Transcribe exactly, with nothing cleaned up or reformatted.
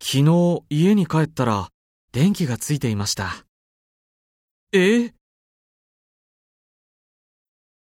昨日家に帰ったら電気がついていました。え？